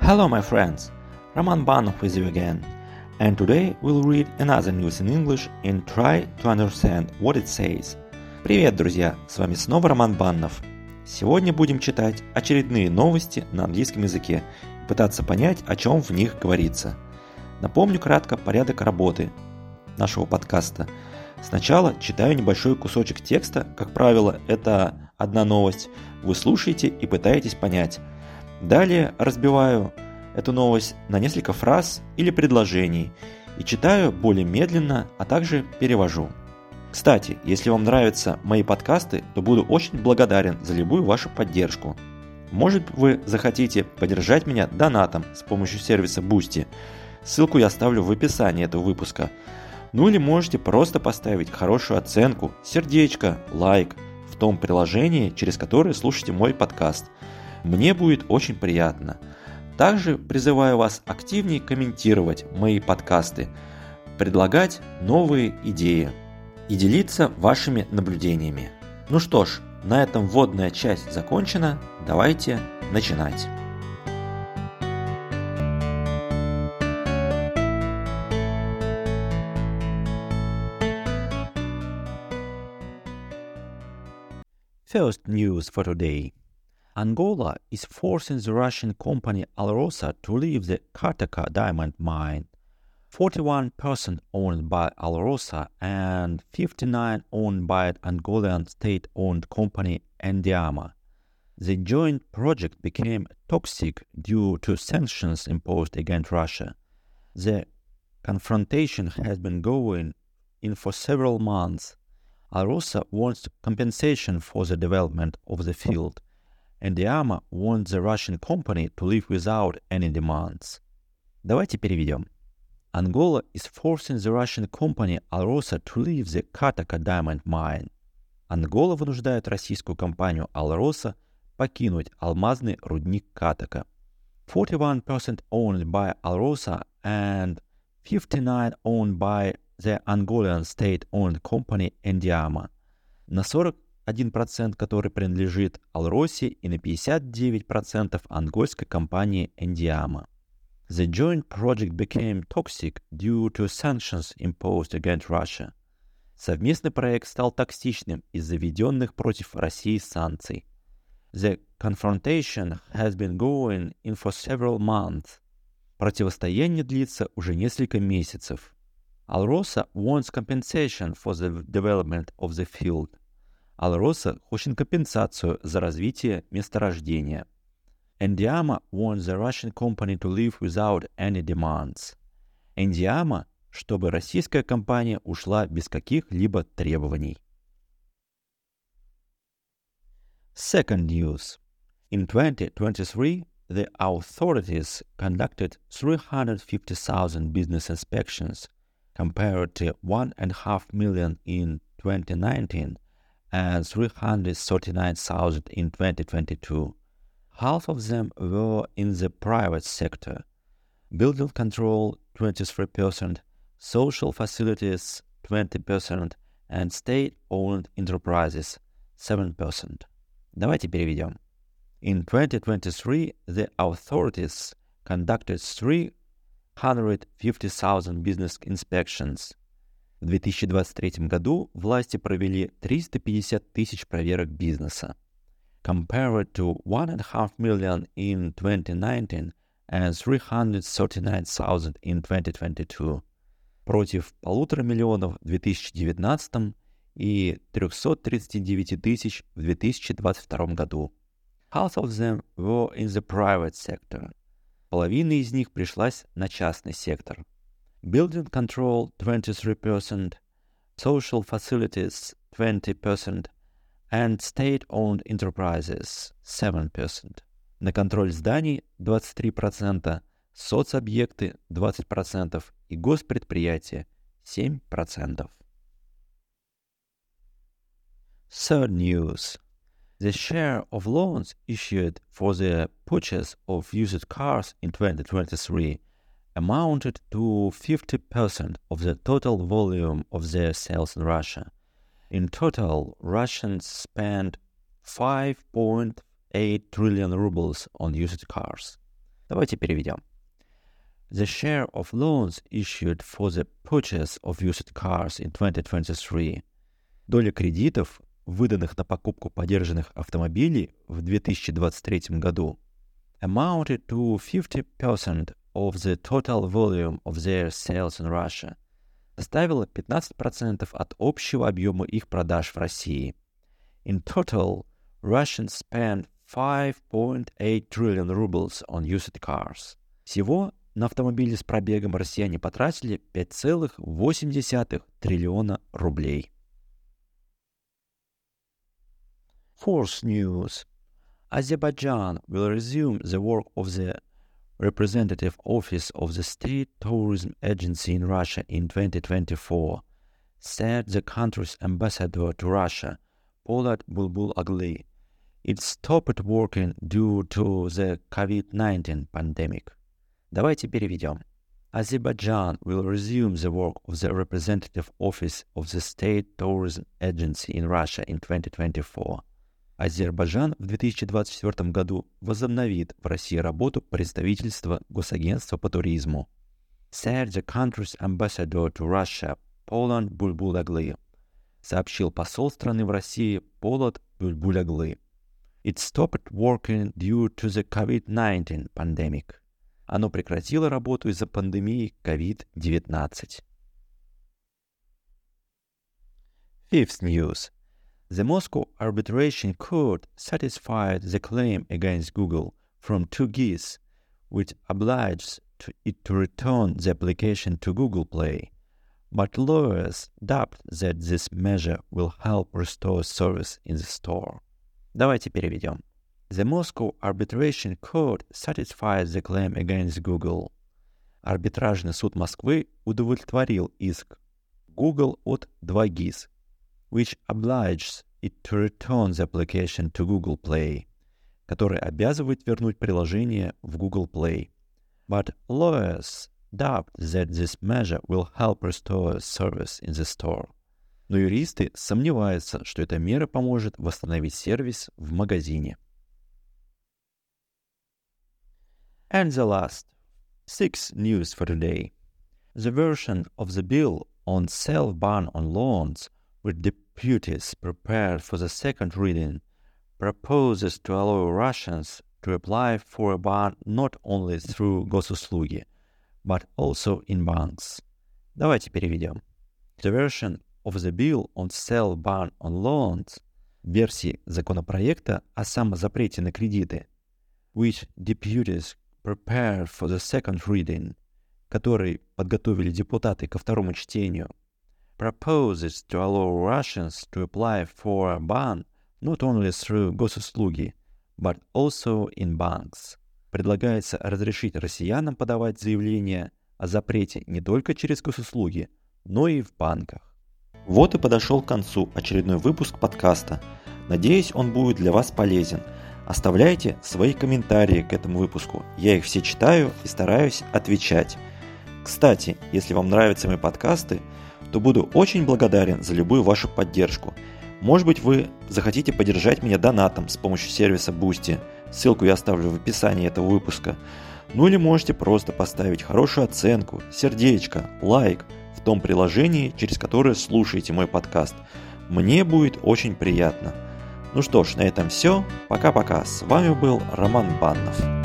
Hello my friends, Roman Banov with you again, and today we'll read another news in English and try to understand what it says. Привет, друзья, с вами снова Роман Баннов. Сегодня будем читать очередные новости на английском языке и пытаться понять, о чем в них говорится. Напомню кратко порядок работы нашего подкаста. Сначала читаю небольшой кусочек текста, как правило, это одна новость, вы слушаете и пытаетесь понять. Далее разбиваю эту новость на несколько фраз или предложений и читаю более медленно, а также перевожу. Кстати, если вам нравятся мои подкасты, то буду очень благодарен за любую вашу поддержку. Может, вы захотите поддержать меня донатом с помощью сервиса Boosty. Ссылку я оставлю в описании этого выпуска. Ну или можете просто поставить хорошую оценку, сердечко, лайк в том приложении, через которое слушаете мой подкаст. Мне будет очень приятно. Также призываю вас активнее комментировать мои подкасты, предлагать новые идеи и делиться вашими наблюдениями. Ну что ж, на этом вводная часть закончена. Давайте начинать. First news for today. Angola is forcing the Russian company Alrosa to leave the Kartaka diamond mine. 41% owned by Alrosa and 59% owned by Angolan state-owned company Endiama. The joint project became toxic due to sanctions imposed against Russia. The confrontation has been going on for several months. Alrosa wants compensation for the development of the field. Endiama wants the Russian company to leave without any demands. Давайте переведем. Angola is forcing the Russian company Alrosa to leave the Kartaka diamond mine. Ангола вынуждает российскую компанию Alrosa покинуть алмазный рудник Катака. 41% owned by Alrosa and 59% owned by the Angolan state-owned company Endiama. На 41%, который принадлежит Алросе, и на 59% ангольской компании Endiama. The joint project became toxic due to sanctions imposed against Russia. Совместный проект стал токсичным из-за введенных против России санкций. The confrontation has been going on for several months. Противостояние длится уже несколько месяцев. Alrosa wants compensation for the development of the field. Alrosa хочет компенсацию за развитие месторождения. Endiama wants the Russian company to leave without any demands. Endiama, чтобы российская компания ушла без каких-либо требований. Second news. In 2023, the authorities conducted 350,000 business inspections, compared to 1.5 million in 2019 and 339,000 in 2022. Half of them were in the private sector. Building control 23%, social facilities 20% and state-owned enterprises 7%. Давайте переведем. In 2023, the authorities conducted 350,000 business inspections. В 2023 году власти провели 350 тысяч проверок бизнеса. Compared to 1.5 million in 2019 and 339,000 in 2022. Против 1,5 миллиона в 2019 и 339 тысяч в 2022 году. Half of them were in the private sector. Половина из них пришлась на частный сектор. Building control 23%, social facilities 20% and state-owned enterprises 7%. На контроль зданий 23%, соцобъекты 20% и госпредприятия 7%. Third news. The share of loans issued for the purchase of used cars in 2023 amounted to 50% of the total volume of their sales in Russia. In total, Russians spent 5.8 trillion rubles on used cars. Давайте переведем. The share of loans issued for the purchase of used cars in 2023. Доля кредитов, выданных на покупку подержанных автомобилей в 2023 году, amounted to 50% of the total volume of their sales in Russia. Составила 15% от общего объема их продаж в России. In total, Russians spent 5.8 trillion rubles on used cars. Всего на автомобили с пробегом россияне потратили 5,8 триллиона рублей. Fourth news. Azerbaijan will resume the work of the representative office of the State Tourism Agency in Russia in 2024, said the country's ambassador to Russia, Polat Bulbulagli. It stopped working due to the COVID-19 pandemic. Давайте переведем. Azerbaijan will resume the work of the representative office of the State Tourism Agency in Russia in 2024. Азербайджан в 2024 году возобновит в России работу представительства Госагентства по туризму. Said the country's ambassador to Russia, Polat Bulbulagli. Сообщил посол страны в России Polat Bulbulagli. It stopped working due to the COVID-19 pandemic. Оно прекратило работу из-за пандемии COVID-19. Fifth news. The Moscow Arbitration Court satisfied the claim against Google from 2GIS, which obliged it to return the application to Google Play. But lawyers doubt that this measure will help restore service in the store. Давайте переведем. The Moscow Arbitration Court satisfied the claim against Google. Арбитражный суд Москвы удовлетворил иск Google от 2GIS, which obliges it to return the application to Google Play, который обязывает вернуть приложение в Google Play. But lawyers doubt that this measure will help restore service in the store. Но юристы сомневаются, что эта мера поможет восстановить сервис в магазине. And the last, sixth news for today. The version of the bill on self-ban on loans, which deputies prepared for the second reading, proposes to allow Russians to apply for a ban not only through Gosuslуги, but also in banks. Давайте переведем. The version of the bill on self-ban on loans, версии законопроекта о самозапрете на кредиты, which deputies prepared for the second reading, который подготовили депутаты ко второму чтению, proposes to allow Russians to apply for a ban not only through Gosuslуги, but also in banks. Предлагается разрешить россиянам подавать заявление о запрете не только через госуслуги, но и в банках. Вот и подошел к концу очередной выпуск подкаста. Надеюсь, он будет для вас полезен. Оставляйте свои комментарии к этому выпуску. Я их все читаю и стараюсь отвечать. Кстати, если вам нравятся мои подкасты, то буду очень благодарен за любую вашу поддержку. Может быть, вы захотите поддержать меня донатом с помощью сервиса Boosty. Ссылку я оставлю в описании этого выпуска. Ну или можете просто поставить хорошую оценку, сердечко, лайк в том приложении, через которое слушаете мой подкаст. Мне будет очень приятно. Ну что ж, на этом все. Пока-пока. С вами был Роман Баннов.